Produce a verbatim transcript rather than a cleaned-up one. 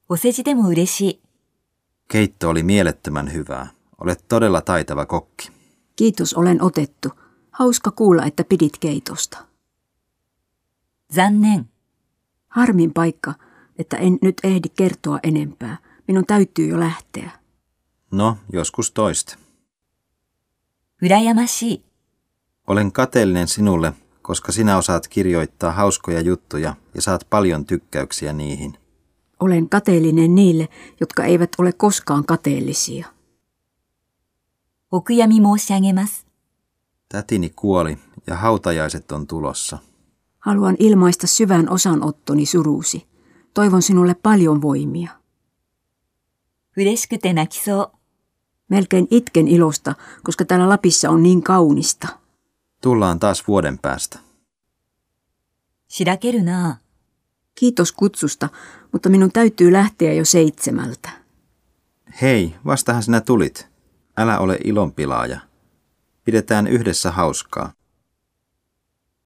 お世辞でも嬉しい。 Keitto oli mielettömän hyvää. Olet todella taitava kokki. Kiitos, olen otettu. Hauska kuulla, että pidit keitosta. 残念。 Harmin paikka, että en nyt ehdi kertoa enempää. Minun täytyy jo lähteä. No, joskus toista. 羨ましい。 Olen kateellinen sinulle, koska sinä osaat kirjoittaa hauskoja juttuja ja saat paljon tykkäyksiä niihin. Olen kateellinen niille, jotka eivät ole koskaan kateellisia. お悔やみ申し上げます。 Tätini kuoli ja hautajaiset on tulossa. Haluan ilmaista syvän osanottoni suruusi. Toivon sinulle paljon voimia. 嬉しくて泣きそう。 Melkein itken ilosta, koska täällä Lapissa on niin kaunista. Tullaan taas vuoden päästä. しらけるな。 Kiitos kutsusta, mutta minun täytyy lähteä jo seitsemältä. Hei, vastahan sinä tulit. Älä ole ilonpilaaja. Pidetään yhdessä hauskaa.